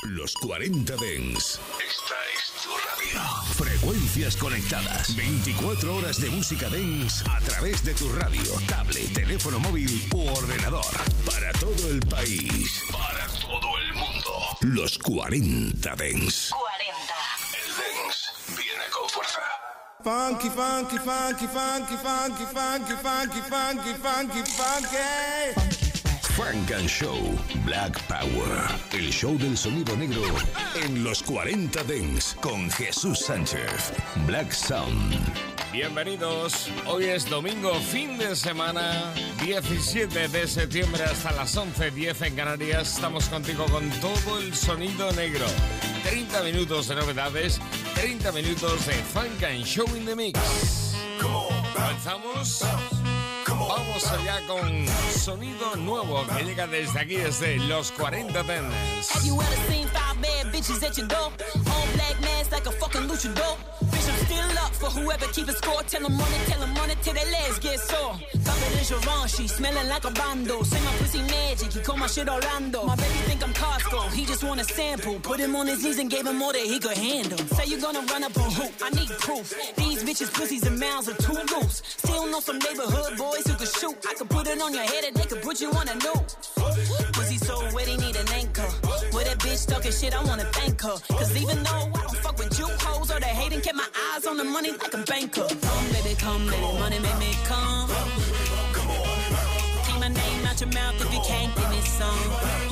Los 40 Dance. Esta es tu radio. Frecuencias conectadas. 24 horas de música dance a través de tu radio, tablet, teléfono móvil u ordenador. Para todo el país. Para todo el mundo. Los 40 Dance. 40. El dance viene con fuerza. Funky, funky, funky, funky, funky, funky, funky, funky, funky, funky. Funk and Show Black Power. El show del sonido negro en los 40 Dance con Jesús Sánchez. Black Sound. Bienvenidos. Hoy es domingo, fin de semana, 17 de septiembre hasta las 11:10 en Canarias. Estamos contigo con todo el sonido negro. 30 minutos de novedades, 30 minutos de Funk and Show in the Mix. ¿Comenzamos? Vamos allá con sonido nuevo que llega desde aquí, desde los 40 Dance. Have you ever seen five bad bitches at your door? All black mask like a fucking luchador. Bitch, I'm still up for whoever keeping score. Tell them run it till their legs get sore. Covered in Givenchy, smelling like a bando. Say my pussy magic, he call my shit Orlando. My baby think I'm Costco, he just want a sample. Put him on his knees and gave him more than he could handle. Say you gonna run up a hoop, I need proof. These bitches pussies and mouths are too loose. Still know some neighborhood boys who could shoot. I could put it on your head and they could put you on a noose. Pussy so wet, he need an anchor. With that bitch talking shit, I wanna thank her. Cause even though I don't fuck with you hoes or they hating, kept my eyes on the money like a banker. Come baby, money make me come. Take my name out your mouth if you can't give me some.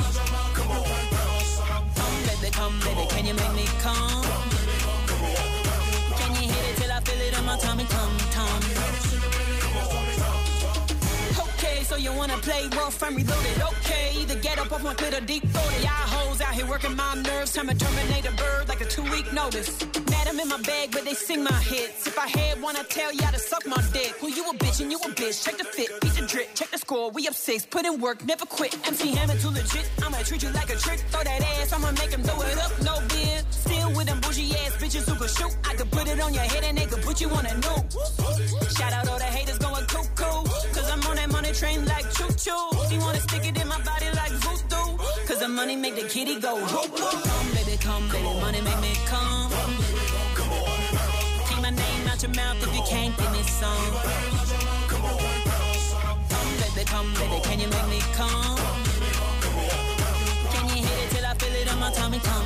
Come baby, can you make me come? Can you hit it till I feel it on my tummy, tum. So you wanna play rough and reloaded? Okay, either get up off my Twitter deep throated. Y'all hoes out here working my nerves. Time to terminate a bird like a 2-week notice. Mad I'm in my bag, but they sing my hits. If I had one, I'd tell y'all to suck my dick. Well, you a bitch and you a bitch. Check the fit, beat the drip, check the score. We up 6, put in work, never quit. MC Hammer too legit. I'ma treat you like a trick. Throw that ass, I'ma make him throw it up. No beer. Still with them bougie ass bitches who could shoot. I could put it on your head and they could put you on a nuke. Shout out all the haters going cuckoo. Cause I'm on that money train like choo-choo. He wanna stick it in my body like voodoo. Cause the money make the kitty go whoop-whoop. Come baby, money make me come. Take my name out your mouth if you can't give me some. Come baby, can you make me come? Can you hit it till I feel it on my tummy, tum.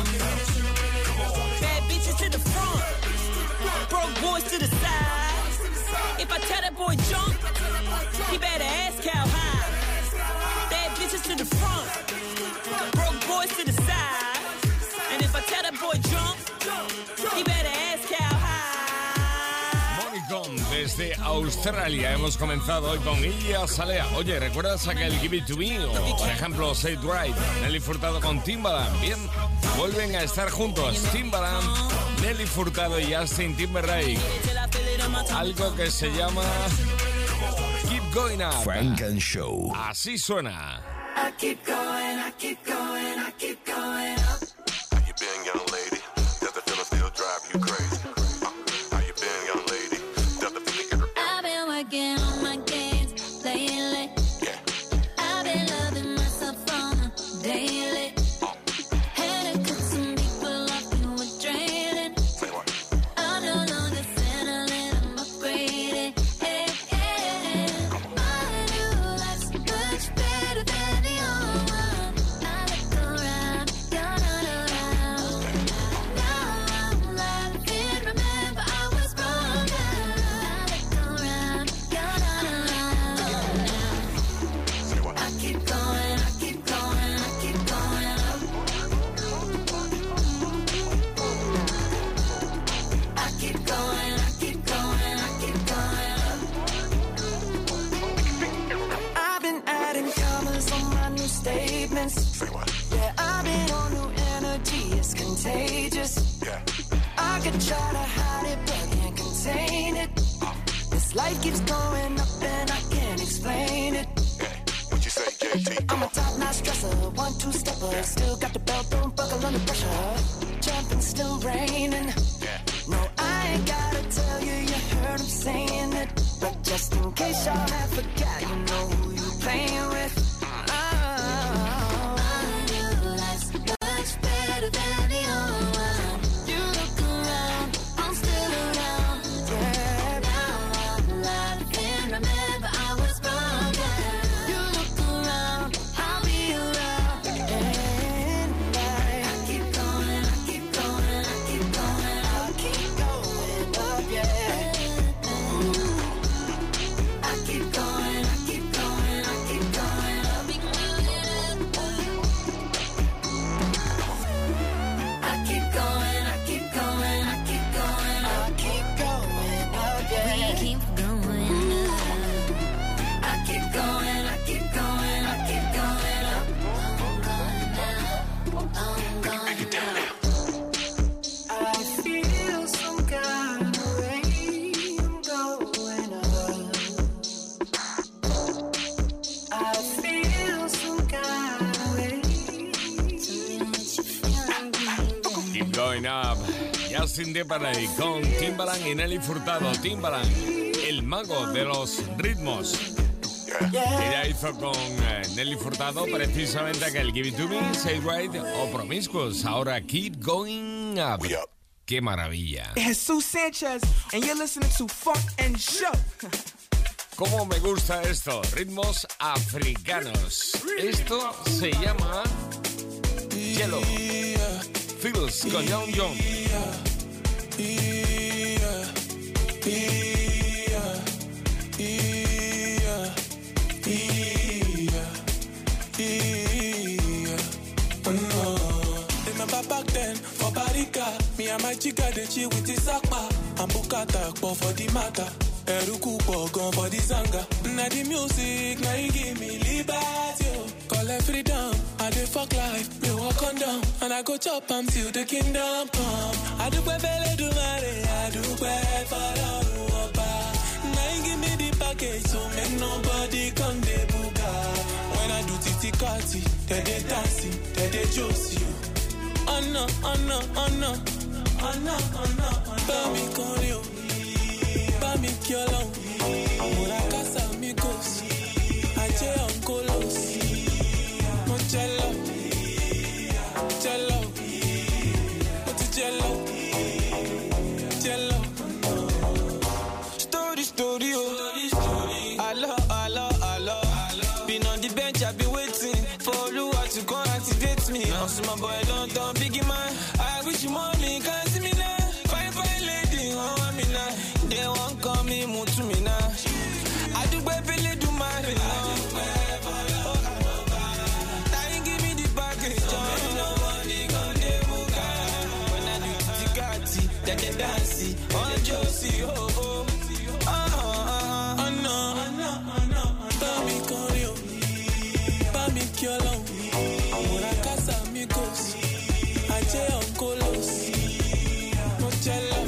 Bad bitches to the front, broke boys to the side. If I tell that boy jump, he better ask how high. Bad bitches to the front, broke boys to the side. And if I tell that boy jump, he better ask how high. Monicon desde Australia. Hemos comenzado hoy con Iggy Azalea. Oye, ¿recuerdas aquel Give It To Me? O, por ejemplo, Say It Right. Nelly Furtado con Timbaland. Bien, vuelven a estar juntos. Timbaland, Nelly Furtado y Justin Timberlake. Algo que se llama Keep Going Up. Funk and Show. Así suena. I keep going, I keep going, I keep going up. How you been, young lady? Does the feeling still drive you crazy? How you been, young lady? Does the feeling get I've been working on my games lately. Yeah. I've been loving myself on a daily. Had to cut some people off who were draining. Say what? I'm no longer settling, I'm upgraded. Hey, hey. My new life's much better than the old one. I look around, you're not around. Now I'm laughing, remember I was wrong now. I look around, you're not around now. Say what? I keep going, I keep going, I keep going up. I keep going, I keep going, I keep going up. I've been adding commas on my new statements. Say what? Yeah, I've been on new energy, it's contagious. Yeah. I could try to hide it, but can't contain it. This life keeps going up and I can't explain it. Yeah. What you say, JT? I'm a top-notch dresser, 1-2-stepper. Still got the belt, don't buckle under pressure. Jumping, still raining. Yeah. No, I ain't gotta tell you, you heard him saying it. But just in case y'all have forgot, you know who you playing with. My new life's much better. Going Up. Justin Timberlake con Timbaland y Nelly Furtado. Timbaland, el mago de los ritmos. Ella hizo con Nelly Furtado precisamente aquel Give It To Me, Say Right o Promiscuous. Ahora Keep Going Up. ¡Qué maravilla! Jesus Sanchez, and you're listening to Funk and Show. ¿Cómo me gusta esto? Ritmos africanos. Esto se llama Yellow. Feels con Young John. Remember back then, for Barika, me and my chica, they chill with the Sakpa. And Bukata, for the matter. Eruku Pogon for the Zanga. Now the music, now you give me liberty. Call it freedom, I do fuck life. Me walk on down, and I go chop till the kingdom come. I do bele do mare, I do bad for the Uoba. Now you give me the package, so make nobody come de buga. When I do titi kati, they dancing, they josie. Oh no, oh no, oh no, oh no, oh no, Bami con you. Bami kiolo, Murakasa amigos, Ache oncolos, Moncello, Cello, Monticello, Cello. Story, hello. Been on the bench, I've been waiting for Lua to come activate me. Also my boy don't biggie man, I wish you money, can't see me now. Fine lady, oh me now. They won't call me Mutumina. I do baby do my thing. Now give me the package. Nobody gon' dey muka. When I do tikati, then they dance. On Josie, oh. No. Bami Korio. Bami Kiolo. Murakasa amigos. Ache oncolos. Moncello.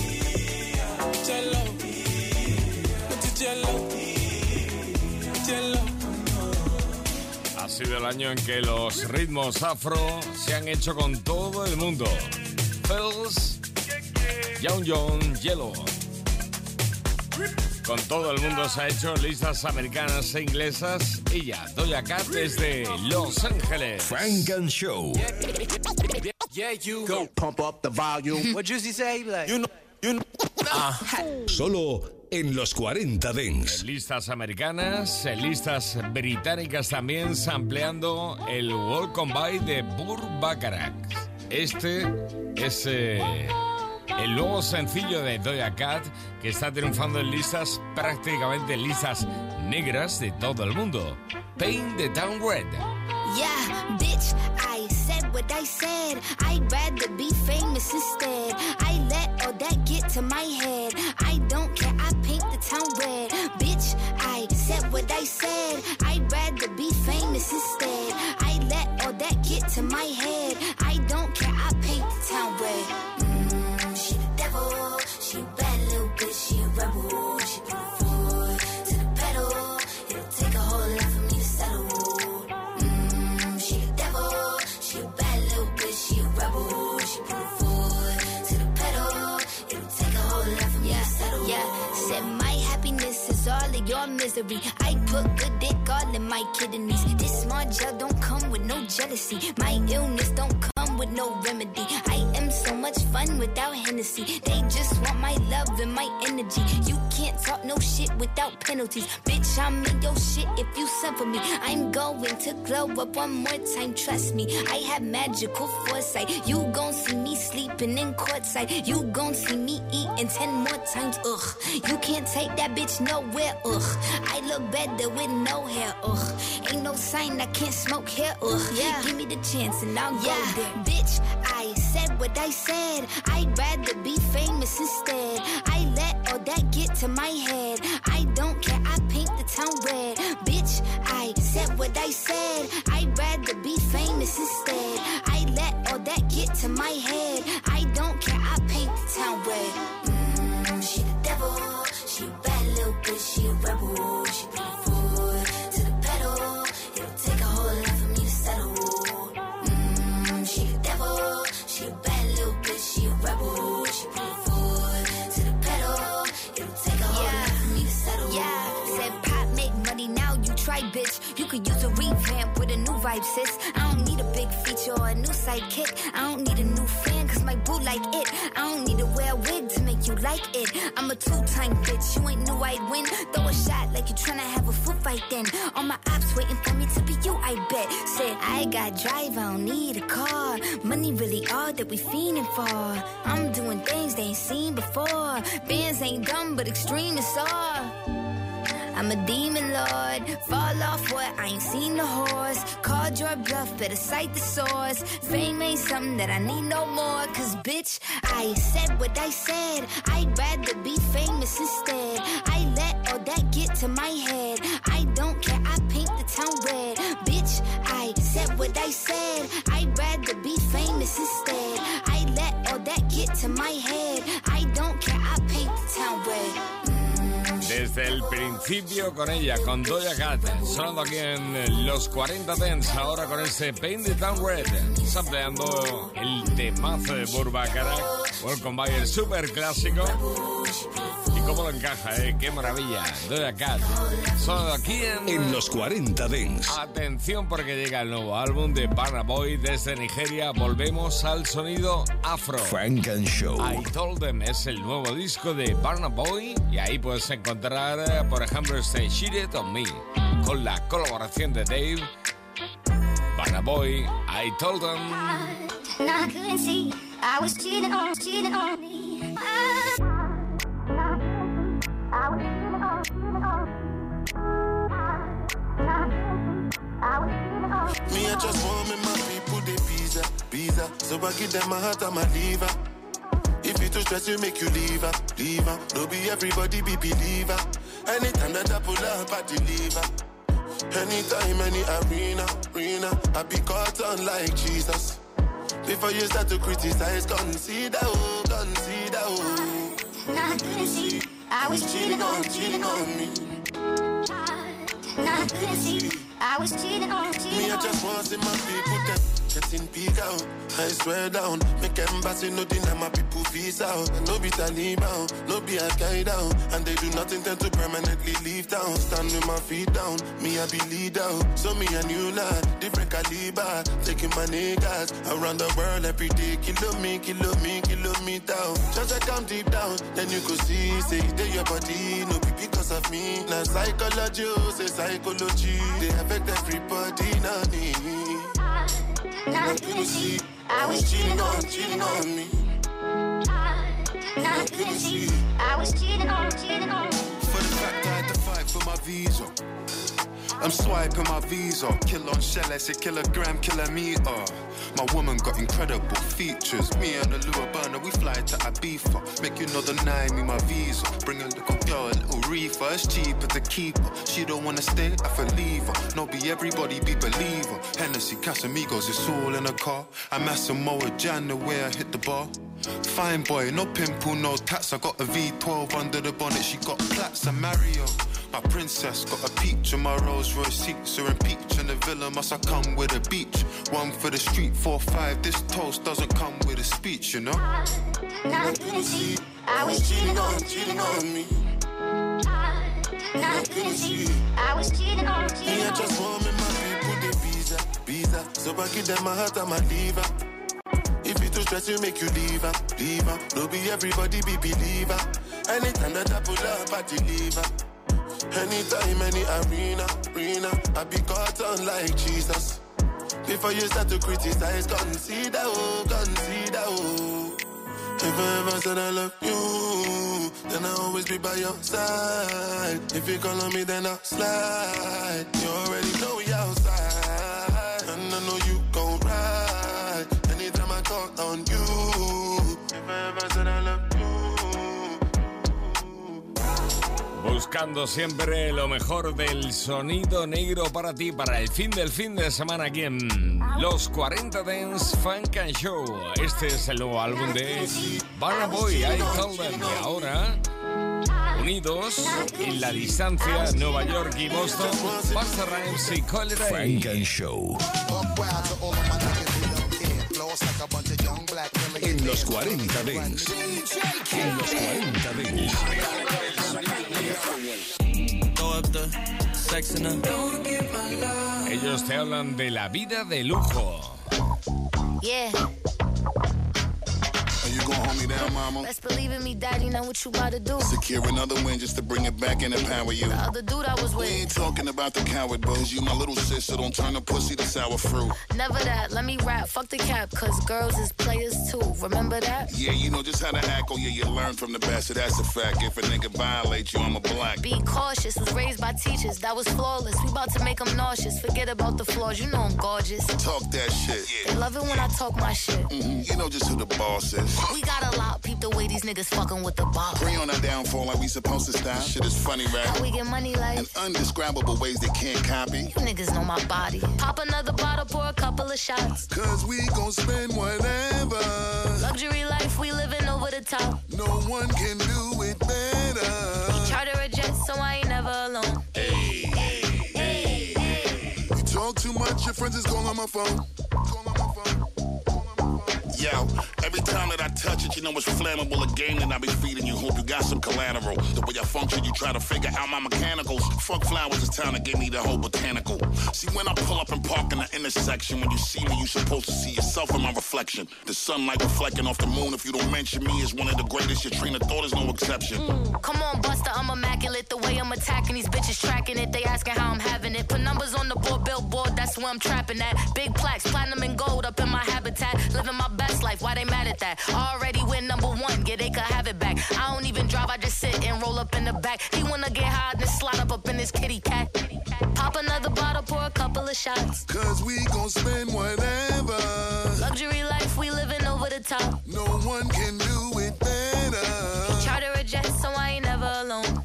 Ha sido el año en que los ritmos afro se han hecho con todo el mundo. Fells, Young John, Yellow. Con todo el mundo se ha hecho listas americanas e inglesas. Ella, Doja Cat, desde Los Ángeles. Funk and Show. Yeah, you go pump up the volume. What Juicy say? Like, you know. Solo en los 40 Dents. Listas americanas, listas británicas también, sampleando el Welcome By de Burt Bacharach. Este es el nuevo sencillo de Doja Cat, que está triunfando en listas, prácticamente en listas negras de todo el mundo. Paint the Town Red. Yeah, bitch, I said what I said. I'd rather be famous instead. I let all that get to my head. I don't care, I paint the town red. Bitch, I said what I said. I'd rather be famous instead. I let all that get to my head. I don't care, I paint the town red. She the devil, she a bad little bitch, she a rebel. She put her foot to the pedal. It'll take a whole lot for me to settle. She a rebel, she put her foot to the pedal. It'll take a whole lot for me to settle. Yeah, said my happiness is all of your misery. I put good dick all in my kidneys. This small gel don't come with no jealousy. My illness don't come with no remedy. I am so much fun without Hennessy. They just want my love and my energy. You can't talk no shit without penalties. Bitch, I'm in your shit if you send for me. I'm going to glow up one more time, trust me. I have magical foresight. You gon' see me sleeping in courtside. You gon' see me eating 10 more times, ugh. You can't take that bitch nowhere, ugh. I look better with no hair, ugh. Ain't no sign I can't smoke here, ugh. Yeah. Give me the chance and I'll go there. Bitch, I said what I said. I'd rather be famous instead. I let all that get to my head. I don't care, I paint the town red. Bitch, I said what I said. I'd rather be famous instead. I let all that get to my head. I don't care, I paint the town red. She the devil, she a bad little bitch, she a rebel. She put her foot to the pedal. It'll take a whole lot for me to settle. She the devil, she a bad little bitch, vibe, sis. I don't need a big feature or a new sidekick. I don't need a new fan, cause my boo like it. I don't need to wear a wig to make you like it. I'm a two-time bitch, you ain't knew I'd win. Throw a shot like you tryna have a foot fight then. All my ops waiting for me to be you, I bet. Said, I got drive, I don't need a car. Money really all that we fiending for. I'm doing things they ain't seen before. Bands ain't dumb, but extreme is all. I'm a demon lord, fall off what, I ain't seen the horse. Called your bluff, better cite the source. Fame ain't something that I need no more. Cause bitch, I said what I said. I'd rather be famous instead. I let all that get to my head. I don't care, I paint the town red. Bitch, I said what I said. I'd rather be famous instead. I let all that get to my head. I don't care, I paint the town red. Desde el principio con ella, con Doja Cat, sonando aquí en los 40 Dance, ahora con este Paint the Town Red, sampleando el temazo de Burbacarac, Welcome Bayer, super clásico. Y cómo lo encaja, qué maravilla, Doja Cat, sonando aquí en los 40 Dance. Atención porque llega el nuevo álbum de Burna Boy desde Nigeria, volvemos al sonido afro. Funk and Show. I Told Them es el nuevo disco de Burna Boy y ahí puedes encontrar, por ejemplo, este Cheated on Me, con la colaboración de Dave. Burna Boy, I Told Them. I couldn't see, I was cheating on me. Me, I just want me my people, they visa. So I give them my heart and my liver. If you too stress, you make you leave her. No be everybody be believer. Anytime that I pull up, I deliver. Anytime, any arena, I be caught on like Jesus. Before you start to criticize, consider, oh. I couldn't see, I was cheating on me. I couldn't see, I was cheating on Me, I just want to see my people them getting big out. I swear down, make embassy no deny my people visa out. No be Taliban, no be Al-Qaeda, and they do not intend to permanently leave town. Stand with my feet down, me I be leader. So me a new lad, different caliber, taking my niggas around the world every day. Kilo me down. Just like I'm deep down, then you could see, say they your body, no be because of me. Now psychology, say psychology, they affect everybody, not me. I couldn't see, I was cheating on me. I couldn't see, I was cheating on. For the fact I had to fight for my visa, I'm swiping my visa. Kill on shell, I say kilogram, kilometer. My woman got incredible features. Me and the Lua burner, we fly to Ibiza. Make you know deny me my visa. Bring a little girl, a little reefer. It's cheaper to keep her. She don't wanna stay, I for leave her. No be everybody be believer. Hennessy, Casamigos, it's all in a car. I'm Asamoah Jan, the way I hit the bar. Fine boy, no pimple, no tats. I got a V12 under the bonnet. She got plaits, I'm Mario. My princess got a peach and my Rolls Royce seats are in peach. And the villa must have come with a beach. One for the street, 4-5. This toast doesn't come with a speech, you know. I couldn't see, I was cheating on me. I couldn't see, I was cheating on. Me, I just want me my people, they visa. So I give them my heart and my liver. If you too stress, you make you leave her. No be everybody be believer. Anytime that I pull up, I deliver. Anytime, any arena, I be caught on like Jesus. Before you start to criticize, consider, oh. If I ever said I love you, then I'll always be by your side. If you call on me, then I'll slide. You already know we outside, and I know you gon' ride. Anytime I call on you, if I ever said I love you. Buscando siempre lo mejor del sonido negro para ti, para el fin de semana aquí en Los 40 Dance Funk and Show. Este es el nuevo álbum de Burna Boy, I Told Them. Y ahora, unidos en la distancia, Nueva York y Boston, Busta Rhymes y Call It Funk and Show. En los 40 Dance. En los 40 Dance. up the sex in her. Don't give my love. Ellos te hablan de la vida de lujo. Yeah. Are you gonna hold me down, mama? Best believe in me, daddy, know what you about to do. Secure another win just to bring it back and empower you. The other dude I was We with. ain't talking about the coward, boys. You my little sis, so don't turn the pussy to sour fruit. Never that, let me rap, fuck the cap, cause girls is players too, remember that? Yeah, you know just how to act, oh yeah, you learn from the best, so that's a fact. If a nigga violates you, I'm a black. Be cautious, was raised by teachers, that was flawless. We about to make them nauseous, forget about the flaws, you know I'm gorgeous. Talk that shit. They love it when I talk my shit. You know just who the boss is. We got a lot, peep the way these niggas fucking with the ball. Pre on our downfall like we supposed to style. Shit is funny, right? How we get money like? In undescribable ways they can't copy. You niggas know my body. Pop another bottle, pour a couple of shots. Cause we gon' spend whatever. Luxury life, we living over the top. No one can do it better. Charter a jet, so I ain't never alone. You talk too much, your friends is calling on my phone. Yo, every time that I touch it, you know it's flammable. A game that I be feeding you. Hope you got some collateral. The way I function, you try to figure out my mechanicals. Fuck flowers, it's time to give me the whole botanical. See, when I pull up and park in the intersection, when you see me, you supposed to see yourself in my reflection. The sunlight reflecting off the moon. If you don't mention me as one of the greatest, your train of thought is no exception. Come on, Buster, I'm immaculate. The way I'm attacking these bitches, tracking it. They asking how I'm having it. Put numbers on the board, billboard, that's where I'm trapping at. Big plaques, platinum and gold up in my habitat. Living my best life, why they mad at that? Already win #1, yeah, they could have it back. I don't even drive, I just sit and roll up in the back. He wanna get high and slide up in his kitty cat. Pop another bottle, pour a couple of shots. Cause we gon' spend whatever. Luxury life, we living over the top. No one can do it better. Charter a jet, so I ain't never alone.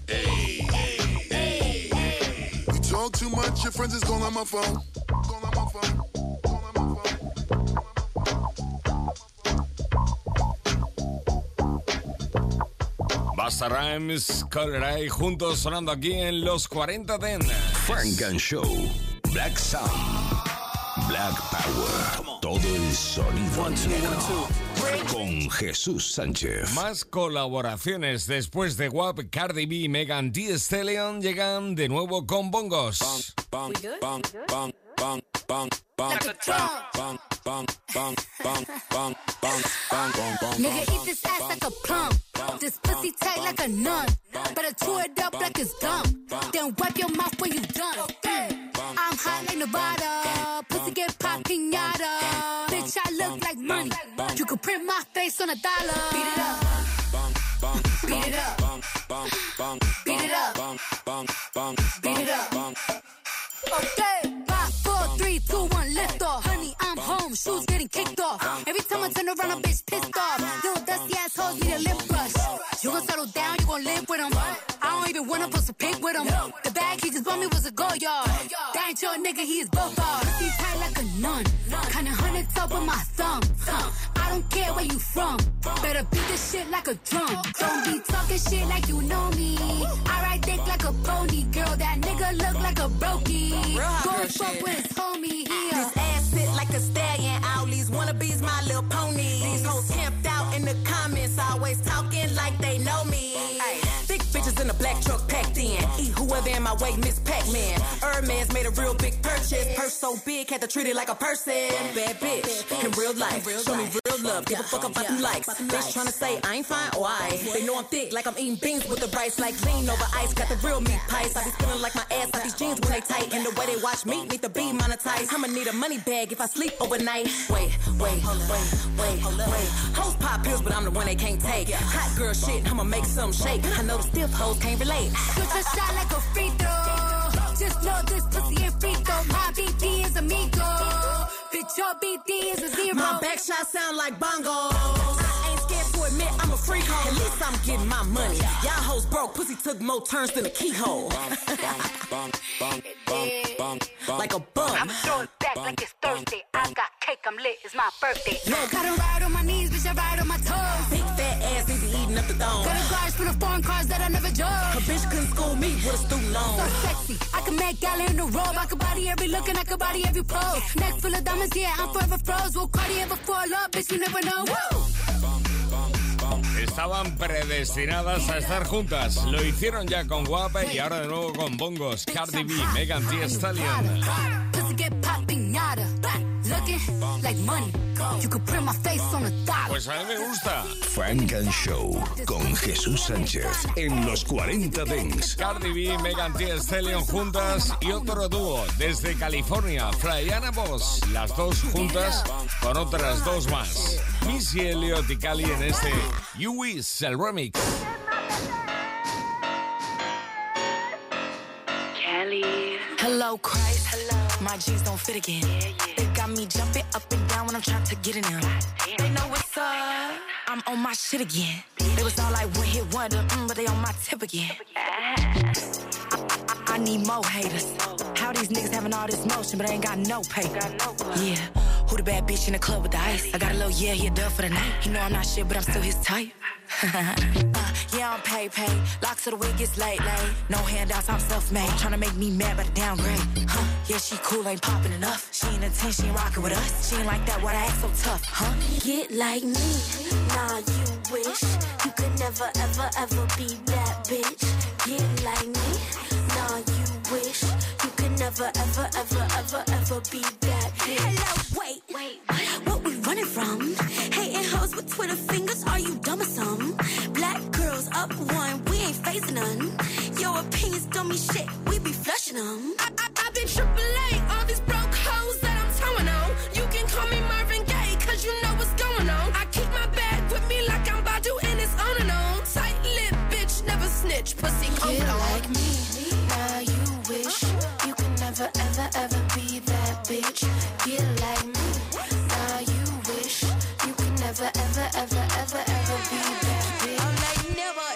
You talk too much, your friends is calling on my phone. Busta Rhymes, Coleray, juntos sonando aquí en los 40 Ten. Frank and Show, Black Sound, Black Power, todo el sonido negro. Con Jesús Sánchez. Más colaboraciones después de WAP, Cardi B y Megan Thee Stallion llegan de nuevo con bongos. Nigga, eat this ass like a plum. This pussy tight like a nun. Better chew it up like it's gum. Then wipe your mouth when you done. I'm hot like Nevada. Pussy get pop pinata. Bitch, I look like money. You can print my face on $1. Beat it up. Beat it up. Beat it up. Beat it up. Okay. 5, 4, 3, 2, 1, lift off. Honey, I'm home. Shoes getting kicked off. Every time I turn around, a bitch pissed off. Little dusty assholes need a lip brush. You gon' settle down, you gon' live with him. I don't even wanna post a pic with him. The bag he just bought me was a go yard. That ain't your nigga, he is both ours. Pussy tight like a nun. Kinda hundred top with my thumb. I don't care where you from. Better beat this shit like a drum. Don't be talking shit like you know me. I ride dick like a pony. Girl, that nigga look like a brokey. Don't fuck with his homie here. This ass sit like a stallion. All these wannabes, my little pony. These hoes camped out in the comments, always talking like they know me. Ay, thick bitches in a black truck packed in. Eat whoever in my way, Miss Pac-Man. Hermes made a real big purchase. Purse so big, had to treat it like a person. Bad bitch in real life. Show me real love. Give a fuck about them likes. Bitch tryna say I ain't fine. Why? They know I'm thick, like I'm eating beans with the rice, like lean over ice. Got the real meat pies. I be feeling like my ass, like these jeans when they tight. And the way they watch me need to be monetized. I'ma need a money bag if I sleep overnight. Wait. Hoes pop pills, but I'm the one they can't take. Hot girl shit, I'ma make some shake. I know the stiff hoes can't relate. Shoot a shot like a free throw. Just know this pussy ain't free throw. My BD is amigo. Bitch, your BD is a zero. My back shot sound like bongos. I ain't scared to admit I'm a freak hoe. At least I'm getting my money. Y'all hoes broke, pussy took more turns than a keyhole. Like a bum. I'm throwing back like it's Thursday. I got cake, I'm lit, it's my birthday. Gotta ride on my knees, bitch, I ride on my toes. Big fat ass, they be eating up the dome. Got a garage full of foreign cars that I never drove. A bitch couldn't school me with a student loan. So sexy, I can make gala in the robe. I can body every look and I can body every pose. Neck full of diamonds, yeah, I'm forever froze. Will Cardi ever fall up, bitch, you never know. Woo! estaban predestinadas a estar juntas. Lo hicieron ya con Guapa y ahora de nuevo con Bongos. Cardi B, Megan Thee Stallion. Pues a mí me gusta. Funk and Show con Jesús Sánchez en los 40 Dents. Cardi B, Megan Thee Stallion juntas y otro dúo desde California, Flyana Boss. Las dos juntas con otras dos más. Missy Elliott y Cali en este You Wish, el remix. Hello, Christ. Hello. My jeans don't fit again. They got me jumping up and down when I'm trying to get in them. They know what's up. I'm on my shit again. They was all like one hit wonder, but they on my tip again. I need more haters. How these niggas having all this motion, but I ain't got no paper. Yeah, who the bad bitch in the club with the ice? I got a little yeah, he a dub for the night. He know I'm not shit, but I'm still his type. Yeah, I'm pay. Locks to the wig, it's late. No handouts, I'm self-made. Tryna make me mad, but downgrade. Yeah, she cool, ain't popping enough. She ain't a 10, she ain't rocking with us. She ain't like that, why I act so tough, Get like me, nah, you wish you could never, ever, ever be that bitch. Get like me, nah, you wish you could never, ever, ever, ever, ever be that bitch. Hello, wait, what we running from? Hating hoes with Twitter fingers, are you dumb or something? Black girls up one, we ain't phasing none. Your opinions don't mean shit, we be flushing them. I've been AAA, all these broke hoes that I'm towing on. You can call me Marvin Gaye, cause you know what's going on. I keep my bag with me like I'm Badu and it's on and on. Tight lip, bitch, never snitch, pussy cold on. Like me, now you wish you could never, ever, ever be that bitch. Get like me, now you wish you could never, ever, ever, ever, ever be that bitch. I'm like never,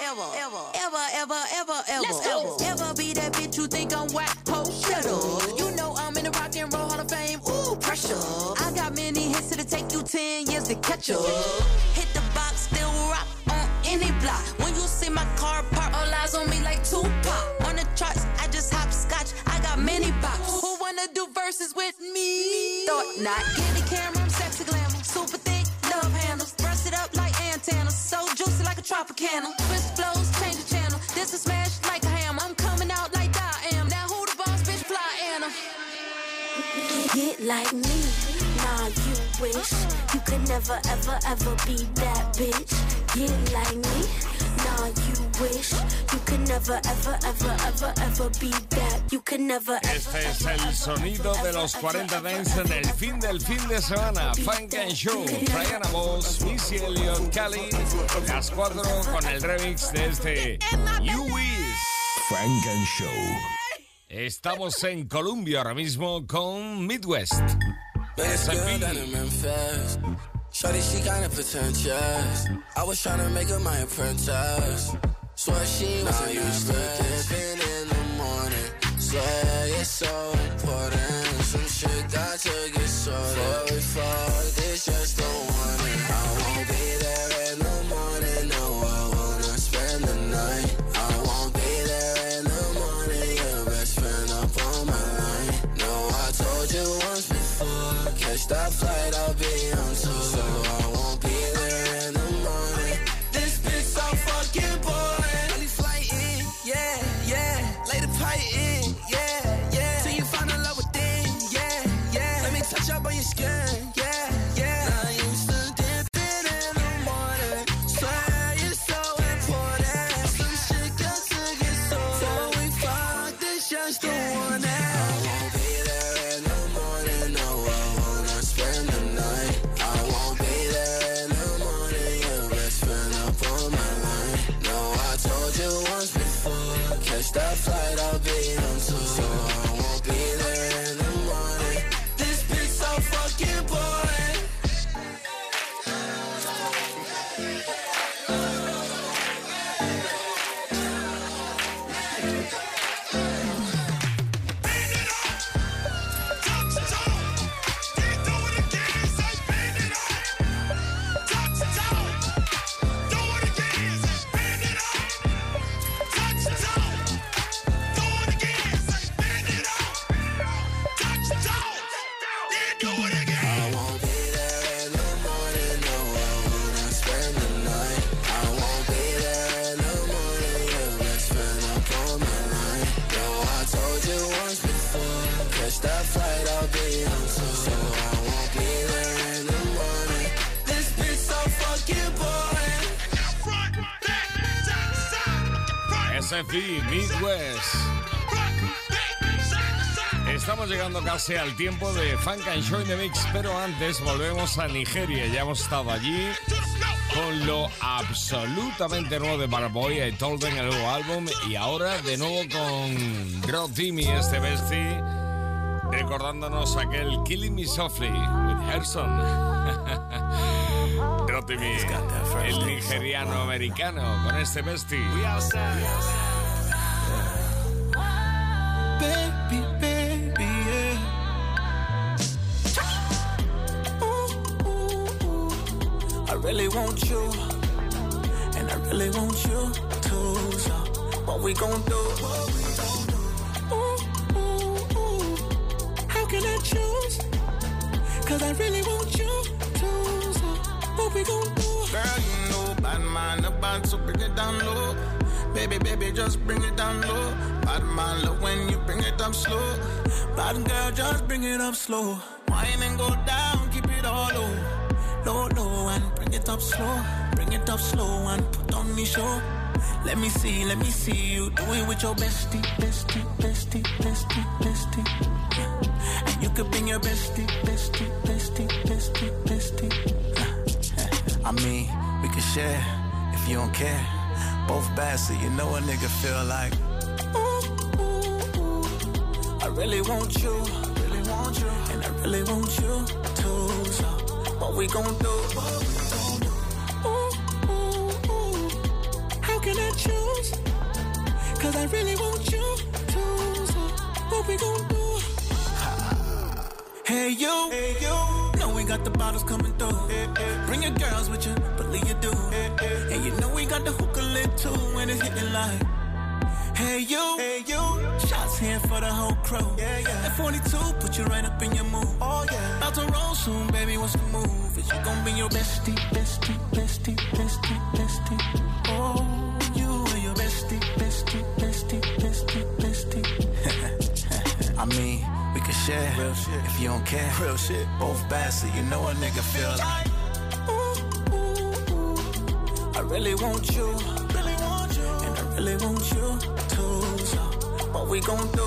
ever. Let's go. Ever be that bitch you think I'm whack, ho, shut up. You know I'm in the Rock and Roll Hall of Fame, ooh, pressure. I got many hits that'll take you 10 years to catch up. Hit the box, still rock on any block. When you see my car park, all eyes on me like Tupac. On the charts, I just hopscotch, I got many bops. Who wanna do verses with me? Thought not. Get the camera, I'm sexy glamour. Super thick, love handles. Brush it up like antennas. So juicy like a Tropicana. Twist flows, change the channel. This is smash like a ham. I'm coming out like I am. Now who the boss, bitch, fly Anna? Get like me, nah, you wish you could never, ever, ever be that bitch. Get like me, nah, you wish you could never, ever, ever, ever, ever be that. You could never. Este es el sonido de los 40 Dance en el fin del fin de semana. Funk and Show, Flyana Boss, Missy Elliott, Cali, las 4 con el remix de este You Wish. Funk and Show. Estamos en Colombia ahora mismo con Midwest. Shorty, she kinda pretentious. I was tryna make her my apprentice. Swear she wasn't useless. In the morning, swear it's so important. Some shit got to get sorted. Before we fuck, it's just don't want it. I won't be there in the morning. No, I wanna spend the night. I won't be there in the morning. Your best friend up on my line. No, I told you once before. Catch that flight, I'll be on tour. So I won't be there in the morning. This bitch so fucking boring. Early flight in, yeah. Lay the pipe in, yeah. Till you SFE, Midwest. Estamos llegando casi al tiempo de Funk and Show in the Mix, pero antes volvemos a Nigeria. Ya hemos estado allí con lo absolutamente nuevo de Burna Boy, I Told Them, el nuevo álbum, y ahora de nuevo con Rotimi, este bestie, recordándonos aquel Killing Me Softly with Herson. Rotimi, el nigeriano americano, con este bestie. Baby, baby, yeah. I really want you, and I really want you too. So, what we gon' do? How can I choose? 'Cause I really want you too. So, what we gon' do? Girl, you know, bad man about to bring it down low. Baby, baby, just bring it down low. Bad man, love when you bring it up slow. Bad girl, just bring it up slow. Wine and go down, keep it all low. Low, low, and bring it up slow. Bring it up slow and put on the show. Let me see you do it with your bestie, bestie, bestie, bestie, bestie. And you could bring your bestie, bestie, bestie, bestie, bestie. I mean, we could share if you don't care. Both bad, so you know a nigga feel like. I really want you, and I really want you too. So, what we gon' do? How can I choose? 'Cause I really want you too. So, what we gon' do? Hey you, know we got the bottles coming through. Bring your girls with you, believe you do. And you know we got the hookah lit too when it's hitting like. Hey you, shots here for the whole crew. That 42 put you right up in your mood. Oh yeah, about to roll soon, baby. What's the move? Is you gon' be your bestie, bestie, bestie, bestie, bestie? Oh, you and your bestie, bestie, bestie, bestie, bestie. I mean, we can share real shit if you don't care. Real shit, both bad, so you know a nigga feel like. I really want you, and I really want you too. So, what we gon' do?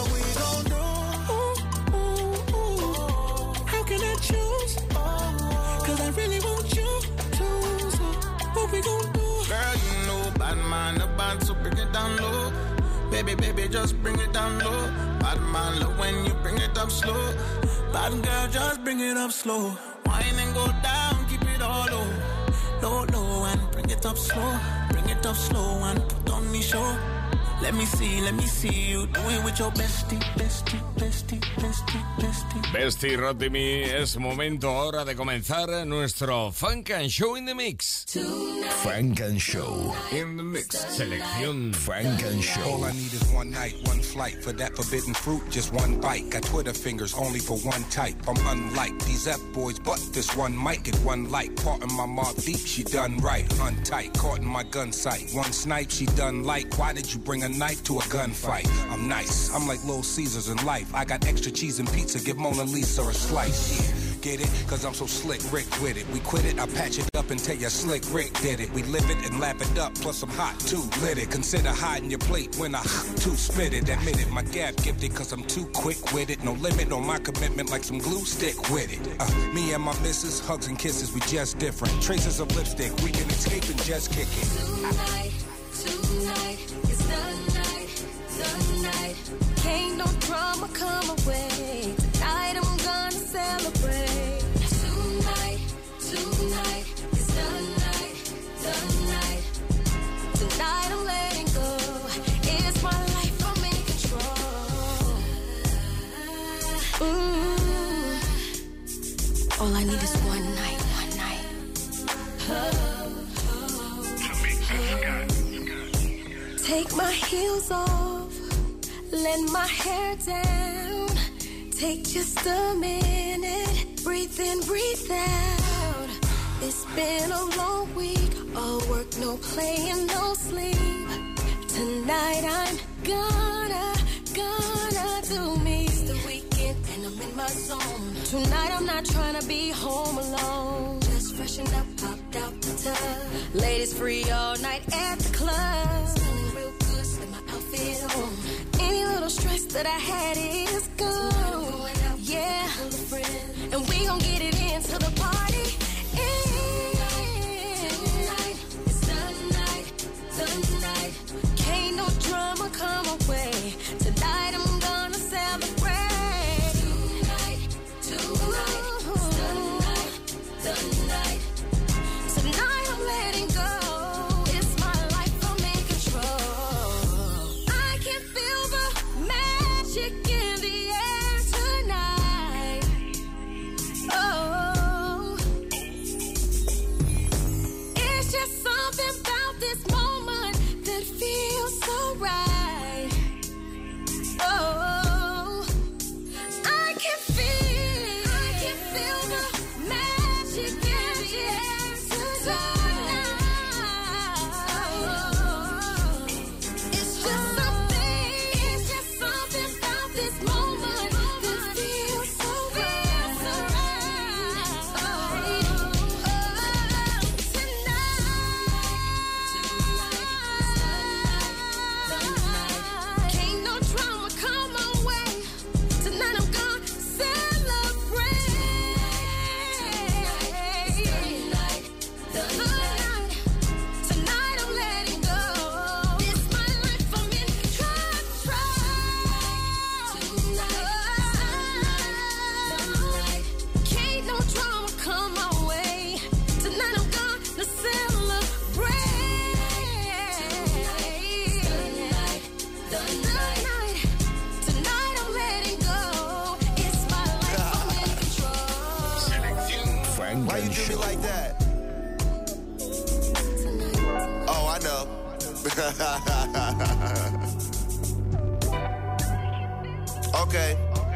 How can I choose? 'Cause I really want you too. So, what we gon' do? Girl, you know, bad man about to bring it down low. Baby, baby, just bring it down low. Bad man, love when you bring it up slow. Bad girl, just bring it up slow. Wine and go down, keep it all low. Low, low, and bring it up slow. Bring it up slow and put on the show. Let me see you do it with your bestie, bestie, bestie, bestie, bestie. Bestie, Rotimi, es momento ahora de comenzar nuestro Funk and Show in the Mix. Funk and Show in the Mix. Selección Funk and Show. All I need is one night, one flight. For that forbidden fruit, just one bite. Got Twitter fingers only for one type. I'm unlike these F-boys, but this one might get one light. Part in my mob deep, she done right. Untight, caught in my gun sight. One snipe, she done like. Why did you bring a knife to a gunfight? I'm nice, I'm like Little Caesars in life. I got extra cheese and pizza, give Mona Lisa a slice. Yeah, get it? 'Cause I'm so slick Rick with it. We quit it, I patch it up and tell you slick Rick did it. We live it and lap it up, plus I'm hot too, lit it. Consider hiding your plate when I too spit it. Admit it, my gap gifted 'cause I'm too quick with it. No limit on my commitment like some glue, stick with it. Me and my missus, hugs and kisses, we just different. Traces of lipstick, we can escape and just kick it. Tonight, it's the night. Can't no drama come away. Tonight I'm gonna celebrate. Tonight, it's the night. Tonight I'm letting go. It's my life, I'm in control. All I need is one night. Take my heels off, let my hair down. Take just a minute, breathe in, breathe out. It's been a long week, all work, no playing, no sleep. Tonight I'm gonna do me. It's the weekend and I'm in my zone. Tonight I'm not trying to be home alone. Just freshen up, popped out the tub. Ladies free all night at the club. Real good, that I had is gone. Yeah, and we gon' get it into the party. Tonight, it's the night. Can't no drama come away. Tonight I'm gonna celebrate. Tonight, the night. Tonight I'm letting go. It's my life, I'm in control. I can feel the magic in the air tonight. Oh, it's just something about this moment that feels so right. Oh, I can feel the magic in the air tonight. It's just something about this moment that feels so right. Tonight, can't no drama come my way. Tonight I'm gonna celebrate. Tonight I'm letting go. It's my life, I'm in control. Tonight, can't no drama come my way. Tonight I'm gonna celebrate. Tonight I'm letting go. It's my life, I'm in control. Frank Why you and do me Show. like that? Oh, I know. Okay.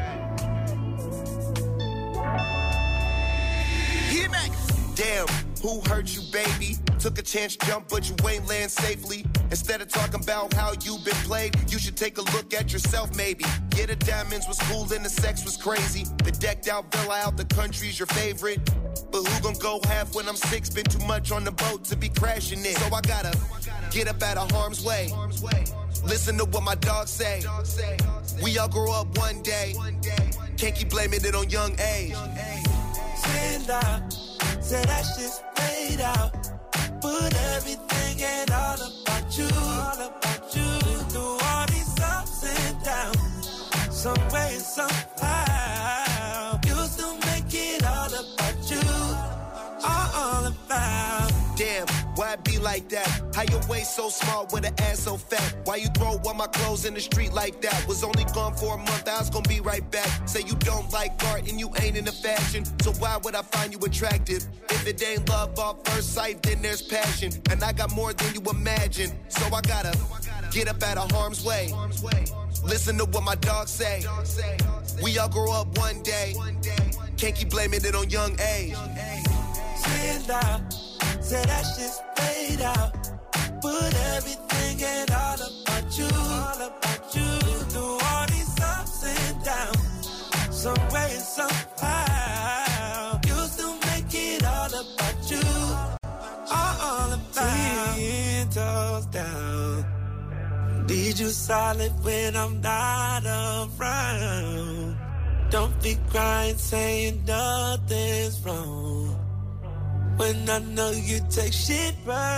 Hit me. Damn, who hurt you, baby? Took a chance, jump, but you ain't land safely. Instead of talking about how you been played, you should take a look at yourself, maybe. Yeah, the diamonds was cool and the sex was crazy. The decked out villa out the country's your favorite. But who gon' go half when I'm sick? Been too much on the boat to be crashing it. So I gotta get up out of harm's way. Listen to what my dogs say. We all grow up one day. Can't keep blaming it on young age. Stand out, say that shit's played out. But everything ain't all about you. Through all these ups and downs, some way, somehow, you still make it all about you. All about. Damn, why it be like that? How your waist so small with an ass so fat? Why you throw all my clothes in the street like that? Was only gone for a month, I was gonna be right back. Say you don't like art and you ain't into fashion, so why would I find you attractive? If it ain't love off first sight, then there's passion. And I got more than you imagine, so I gotta get up out of harm's way. Listen to what my dogs say. We all grow up one day. Can't keep blaming it on young age. Stand out, say that shit's played out. But everything ain't all about you. Through all these ups and downs, some way, somehow, you still make it all about you. All about. 10 toes down. Need you solid when I'm not around. Don't be crying, saying nothing's wrong. When I know you take shit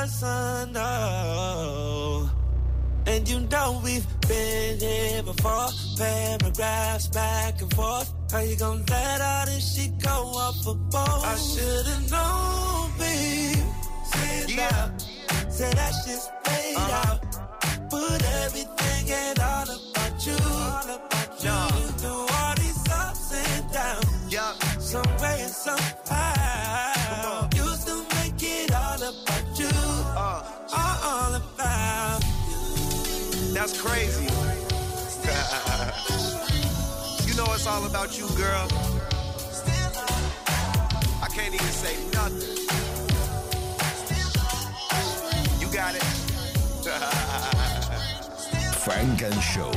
personal. And you know we've been here before. Paragraphs back and forth. How you gonna let all this shit go off a boat? I should've known, babe. Say that shit's played out. But everything ain't all about you. Through all these ups and downs, some way and somehow, you still make it all about you. All about. That's crazy. You know it's all about you, girl. I can't even say nothing. You got it. Frank and Show.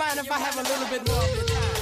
mind if I have a little bit more of your time?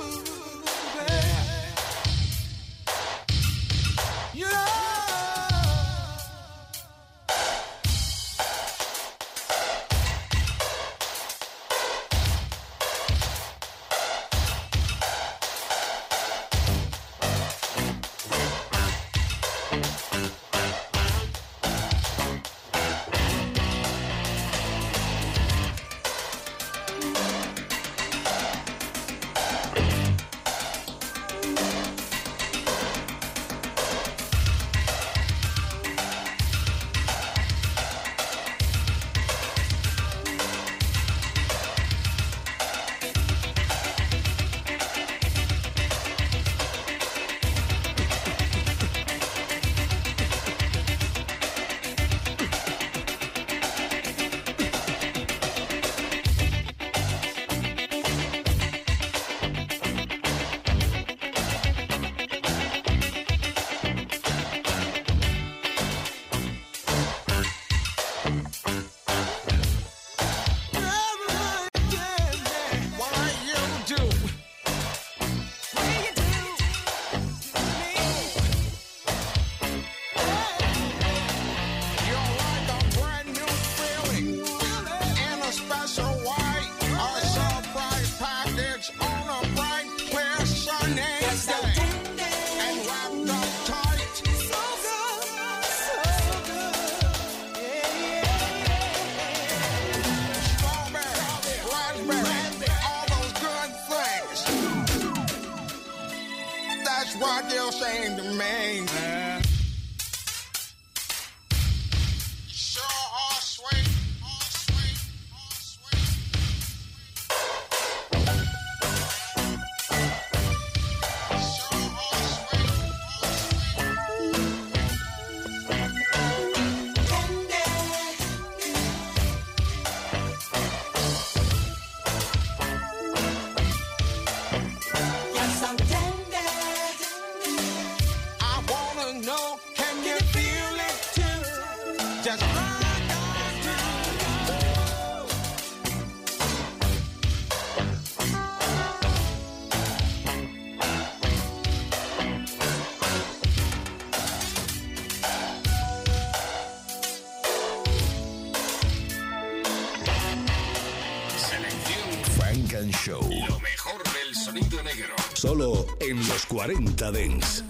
Show. Lo mejor del sonido negro. Solo en los 40 Dents.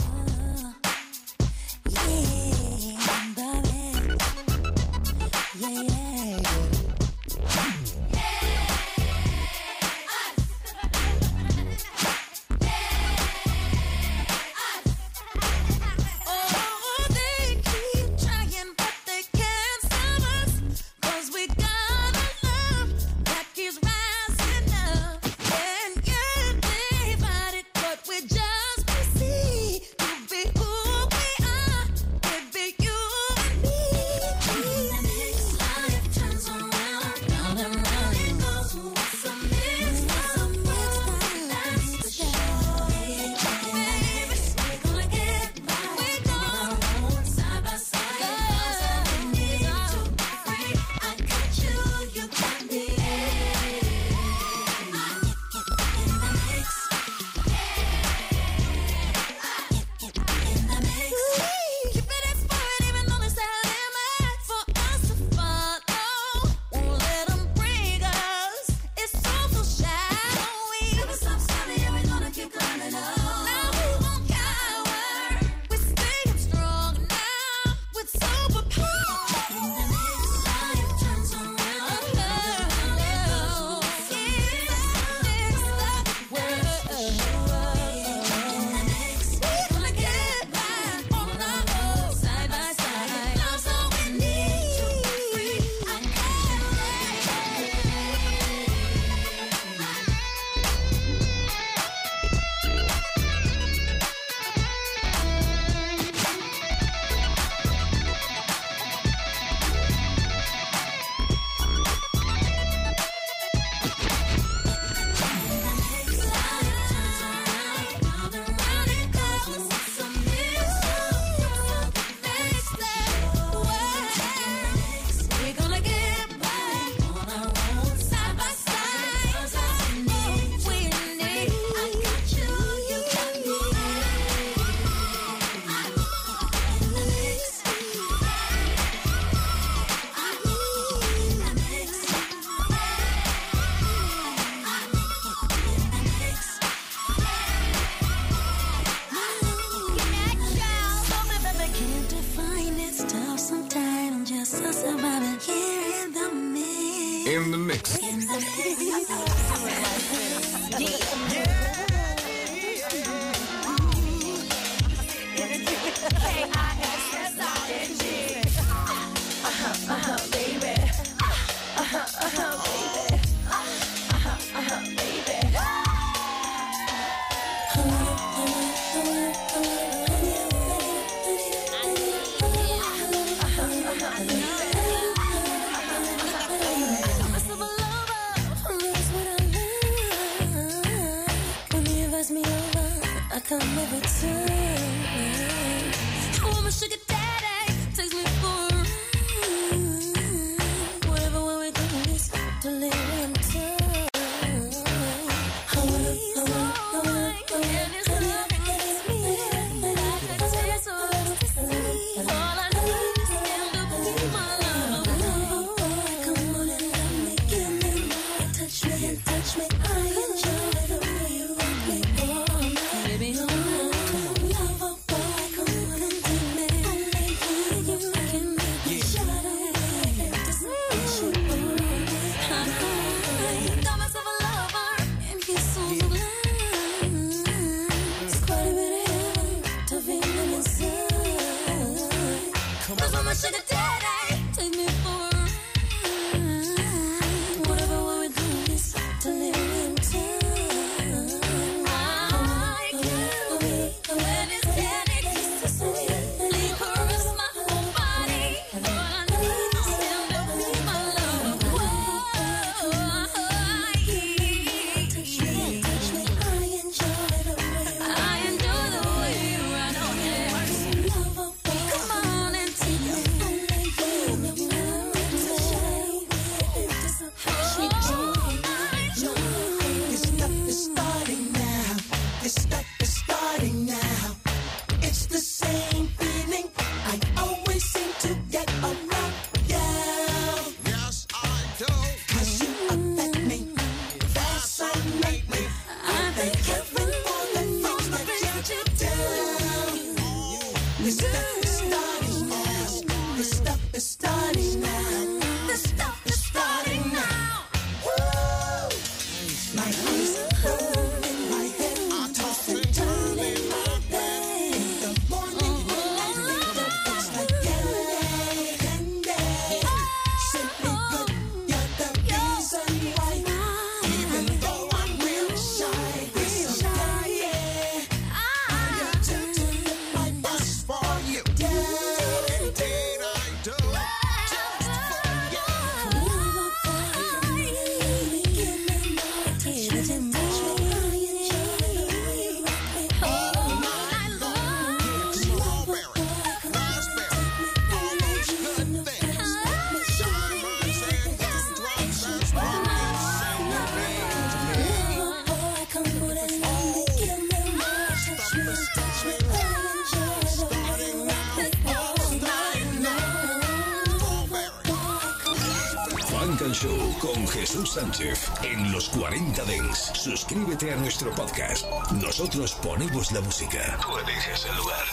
Just to see you Remix. Come every time. Oh, my sugar daddy takes me for a ride. Whatever way we go, it's delirium time. I wanna, and it's me. I can taste all I need is stand up and be my love. Come on and let me get me more. Touch me and touch me. I enjoy the way you rock me. Baby, sugar daddy, take me for a ride. Whatever way we do is delirium time. I can't wait when it's candy kisses me. Caress my whole body. All I need is stand up and my love. Touch me, I enjoy the way you run on it. Come on and take me. Show con Jesús Sánchez en los 40 Dents. Suscríbete a nuestro podcast. Nosotros ponemos la música. Tú eliges el lugar.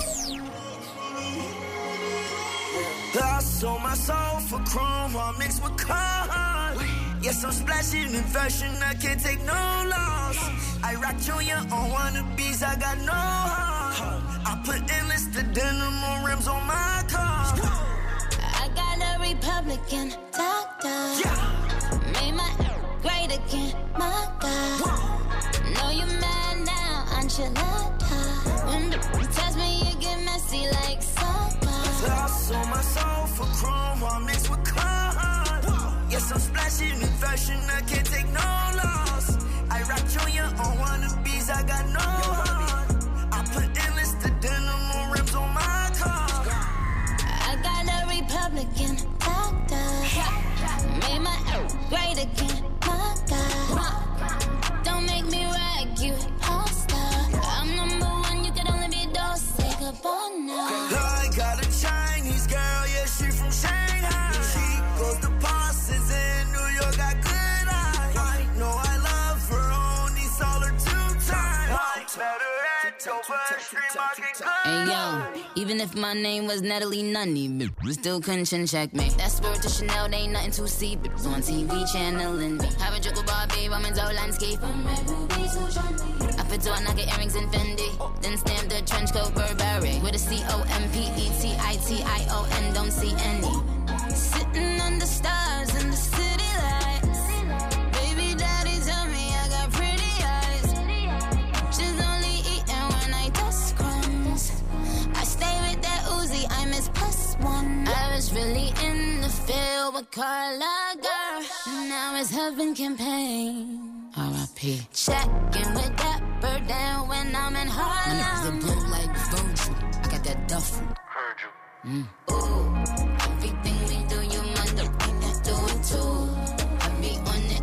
I sold my soul for chrome while mixed with corn. Yes, I'm splashing in fashion, I can't take no loss. I rock Junior on wannabes, I got no heart. I put endless the denim on rims on my car. I got a Republican doctor. Made my great again, my God. Know you mad now, enchilada. When the test me, you get messy like soda. I sold my soul for chrome while mixed with corn. Yes, I'm splashing in fashion, I can't take no loss. I rock Junior on wannabes, I got no heart. I put endless the denim on rims on my car. I got a Republican doctor. Made my great again, my God. Don't make me rag you, all-star. I'm number one, you can only be those. Say goodbye now. I got a Chinese girl, yeah, she from Shanghai. She goes to Parsons in New York, got good eyes. I know I love her, only saw her 2 times. I met her at Hey yo, even if my name was Natalie Nunny, we still couldn't check me. That spirit to Chanel, they ain't nothing to see. Bitches on TV channeling me. Have a joke about babe, I'm in Zoe landscape. I fit to I knock earrings in Fendi. Then stamp the trench coat Burberry with a COMPETITION. Don't see any. Sitting under stars in the city lights. Baby daddy tell me I got pretty eyes. She's only eating when I dust crumbs. I stay with that Uzi, I miss +1. I was really in the field with Carla girl. Now it's heaven campaign. R.I.P. Checking with that bird down when I'm in Harlem. My niggas that blow like Virgil. I got that duffel. Heard you. Ooh, everything we do, you mother do it too. I be on it,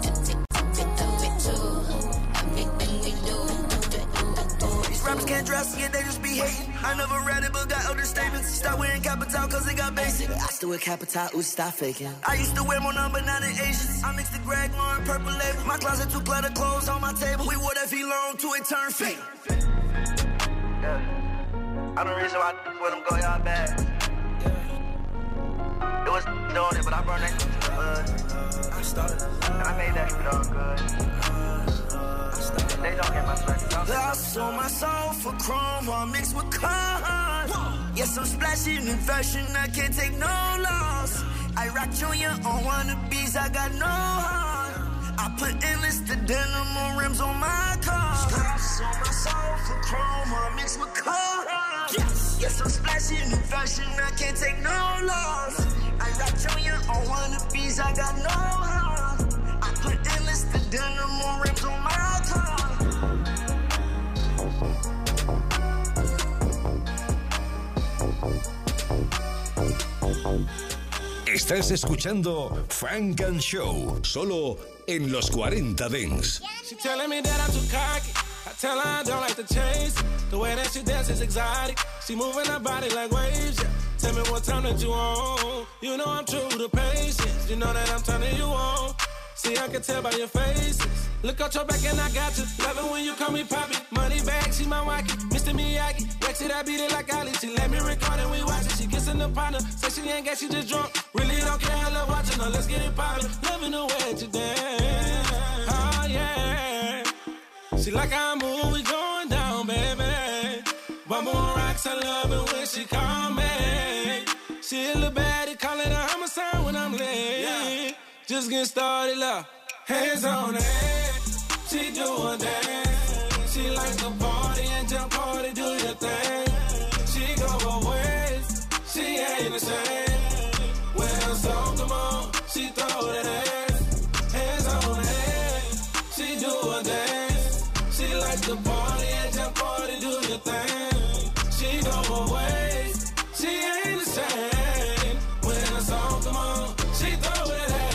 too. Everything we do. These rappers can't dress it, they just be hating. I never read it, but got older statements. Stop wearing Capital, cause it got basic. I still wear Capital, ooh, stop faking. I used to wear more number 9 than Asians. I mixed the Greg Lauren purple label. My closet too cluttered, clothes on my table. We wore that V-Long till it turned fake. Yeah. I'm the reason why I let them go y'all bad. It was doing it, but I brought that to the hood. And I made that shit all good. They don't get my flex. I sold my soul for chrome, all mixed with cars. Yes, I'm splashing in fashion, I can't take no loss. I rock Junior on wannabes, I got no heart. I put endless to denim on rims on my car. I sold my soul for chrome, all mixed with cars. Yes, I'm splashing in fashion, I can't take no loss. I rock Junior on wannabes, I got no heart. I put endless to denim on rims on my car. Estás escuchando Funk and Show, solo en los 40 Dents. She telling me that I'm too cocky. I tell her I don't like to chase. The way that she dances is exotic. She moving her body like waves, yeah. Tell me what time that you on. You know I'm true to patience. You know that I'm turning you on. See, I can tell by your faces. Look out your back and I got you. Love it when you call me Poppy. Money bag, she my wacky. Mr. Miyagi. Wax it, I beat it like Ali. She let me record and we watch it. She kissing the partner. Say she ain't got, she just drunk. Really don't care, I love watching her. Let's get it poppin'. Loving the way that you dance. Oh, yeah. She like how I move, we going down, baby. Bumble on rocks, I love it when she call me. She a little baddie, call it a homicide when I'm late. Yeah. Just get started, love. Hands on her head, she doing that. She like to party and jump party, do your thing. She go her ways, she ain't the same. When her song come on, she throw that ass. Hands on her head, she doing that. She like to party and jump party, do your thing. She go her ways, she ain't the same. When her song come on, she throw that ass.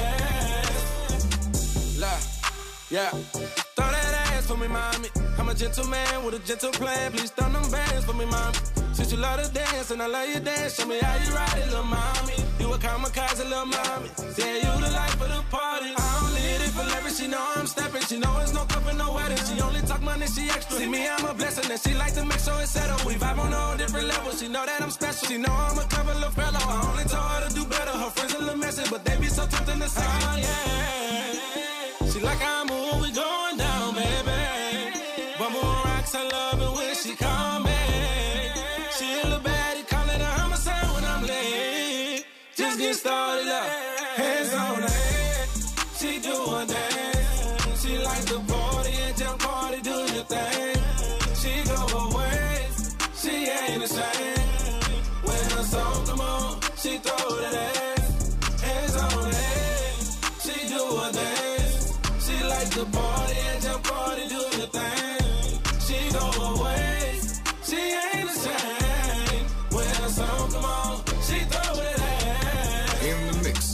Yeah, throw that ass for me, mommy. I'm a gentleman with a gentle plan. Please throw them bands for me, mommy. Since you love to dance and I love you dance, show me how you ride it, little mommy. You a kamikaze, little mommy. Yeah, you the life of the party. I don't need it for leverage. She know I'm stepping. She know it's no cup and no wedding. She only talk money, she extra. See me, I'm a blessing, and she like to make sure it's settled. We vibe on a whole different level. She know that I'm special. She know I'm a clever little fellow. I only told her to do better. Her friends a little messy, but they be so tempting to say, oh, yeah. She like how I move, we going down, baby. Bumble on rocks, I love it when she call me. She a little baddie, call it a homicide when I'm late. Just get started up, hands on her head. She doing that. She like to party and jump party, do your thing. She go her ways, she ain't the same. When her song come on, she throw that ass. Hands on her head, she doing that. She like to party and jump party, do your thing. She go her ways, she ain't the same. When her song come on, she throw it ass. In the mix.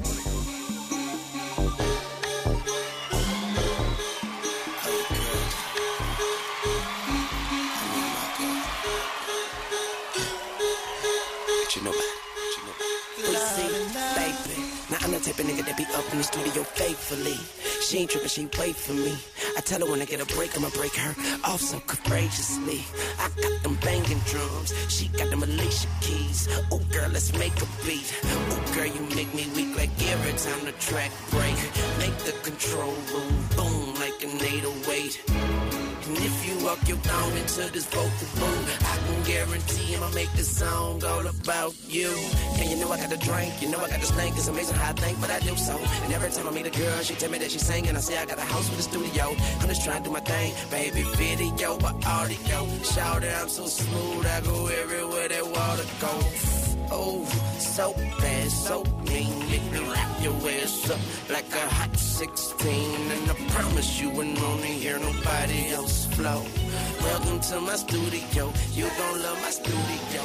I'm the type of nigga that be up in the studio faithfully. She ain't trippin', she wait for me. I tell her when I get a break, I'ma break her off so courageously. I got them banging drums, she got them Alicia keys. Ooh, girl, let's make a beat. Ooh, girl, you make me weak like every time the track break. Make the control room boom like an 808. And if you walk your down into this vocal boom, I can guarantee I'ma make this song all about you. And you know I got the drink, you know I got the stank. It's amazing how I think, but I do so. And every time I meet a girl, she tell me that she's singing. I say I got a house with a studio. I'm just trying to do my thing, baby. Video, but audio. Shout it, I'm so smooth. I go everywhere that water goes. Oh, so bad, so mean. Make me wrap your ass up like a hot 16. And I promise you wouldn't wanna hear nobody else flow. Welcome to my studio. You gon' love my studio.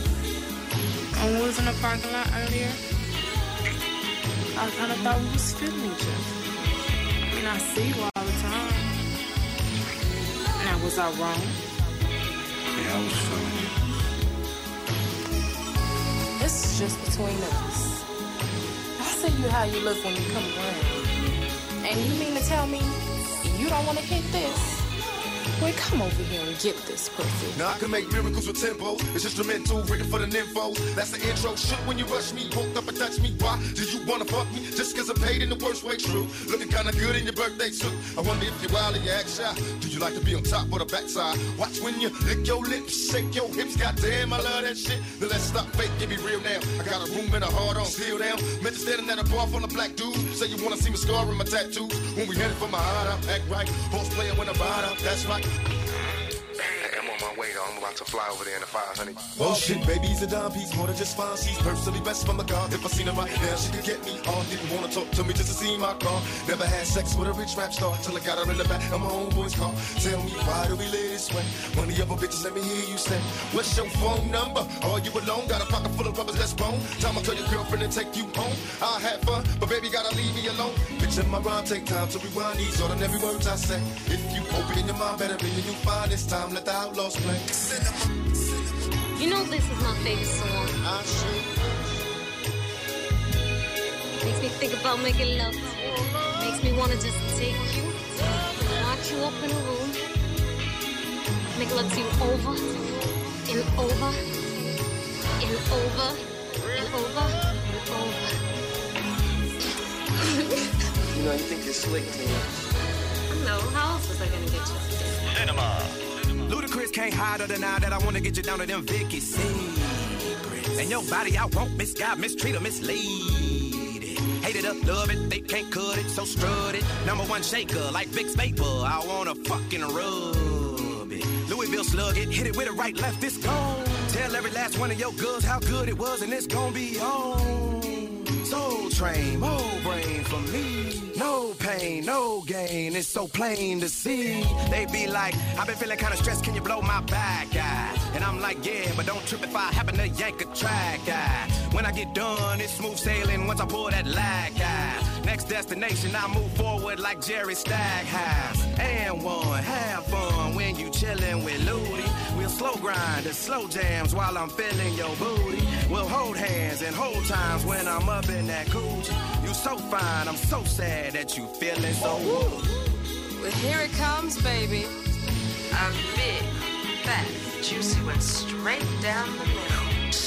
I was in the parking lot earlier. I kind of thought we was feeling each other. I mean, I see you all the time. Now, was I wrong? Yeah, I was feeling you. This is just between us. I see you how you look when you come around. And you mean to tell me you don't want to hit this? Boy, come over here and get this pussy. Now I can make miracles with tempo. It's instrumental, written for the nympho. That's the intro. Shook when you rush me, woke up and touch me. Why did you wanna fuck me? Just cause I'm paid in the worst way, true. Looking kinda good in your birthday suit. I wonder if you're wild or you act shy. Do you like to be on top or the backside? Watch when you lick your lips, shake your hips. Goddamn, I love that shit. Then let's stop fake, give me real now. I got a room and a heart on, still down. Meant to standing at a bar full of black dudes. Say you wanna see me scarring my tattoos. When we headed for my heart out, act right. Horse playing when I ride out, that's right. I'm on my way, though. I'm about to fly over there in the 500. Oh shit, baby's a dime piece, more than just fine. She's personally best from the car. If I seen her right now, she could get me on. Didn't wanna talk to me just to see my car. Never had sex with a rich rap star till I got her in the back of my own boy's car. Tell me why do we live this way? One of your bitches, let me hear you say, what's your phone number? Are you alone? Got a pocket full of rubbers that's bone. Time I tell your girlfriend to take you home. I had fun, but baby gotta leave me alone. Bitch, in my rhyme, take time to rewind these ordinary words I say. If you open your mind, better be you find this time. Let the outlaws play. You know this is my favorite song. Makes me think about making love. Makes me wanna just take you, lock you up in a room, make love to you over and over and over and over and over. You know, you think you're slick, Tina. No, how else was I gonna get you? Cinema. Ludacris can't hide or deny that I wanna get you down to them Vicky secrets. And your body I won't misguide, mistreat or mislead it. Hate it up, love it, they can't cut it, so strut it. Number one shaker like Vicks Vapor, I wanna fucking rub it. Louisville slug it, hit it with a right, left, it's gone. Tell every last one of your girls how good it was and it's gonna be on. Soul Train, more brain for me. No pain, no gain, it's so plain to see. They be like, I've been feeling kinda stressed, can you blow my back out? And I'm like, yeah, but don't trip if I happen to yank a track out. When I get done, it's smooth sailing once I pull that lag out. Next destination, I move forward like Jerry Stackhouse. And one, have fun when you chillin' with Ludi. We'll slow grind and slow jams while I'm feeling your booty. We'll hold hands and hold times when I'm up in that coochie. You so fine, I'm so sad that you feeling so woo. Well, here it comes, baby. A big, fat, juicy one straight down the middle.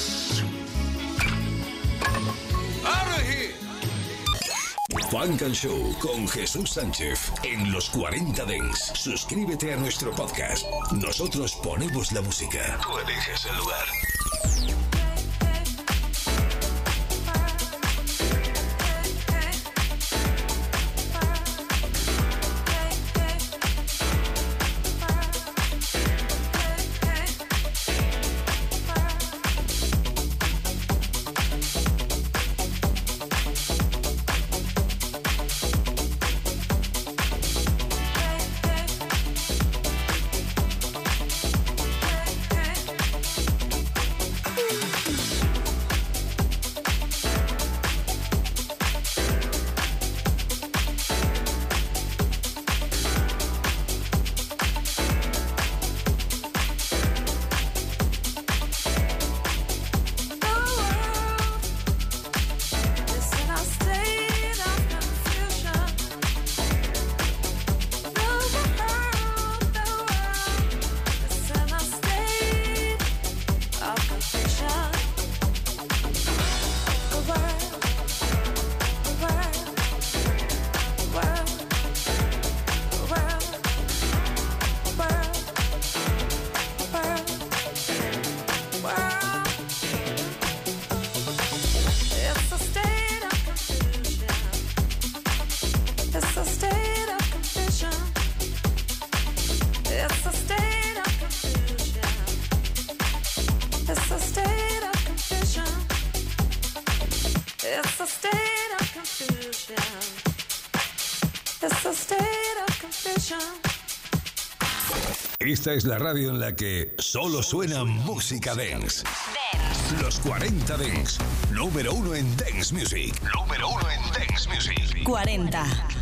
¡Out of here! Funk and Show con Jesús Sánchez en los 40 Dents. Suscríbete a nuestro podcast. Nosotros ponemos la música. Tú eliges el lugar. Esta es la radio en la que solo suena música dance. Los 40 Dance. Número 1 en Dance Music. Número 1 en Dance Music. 40.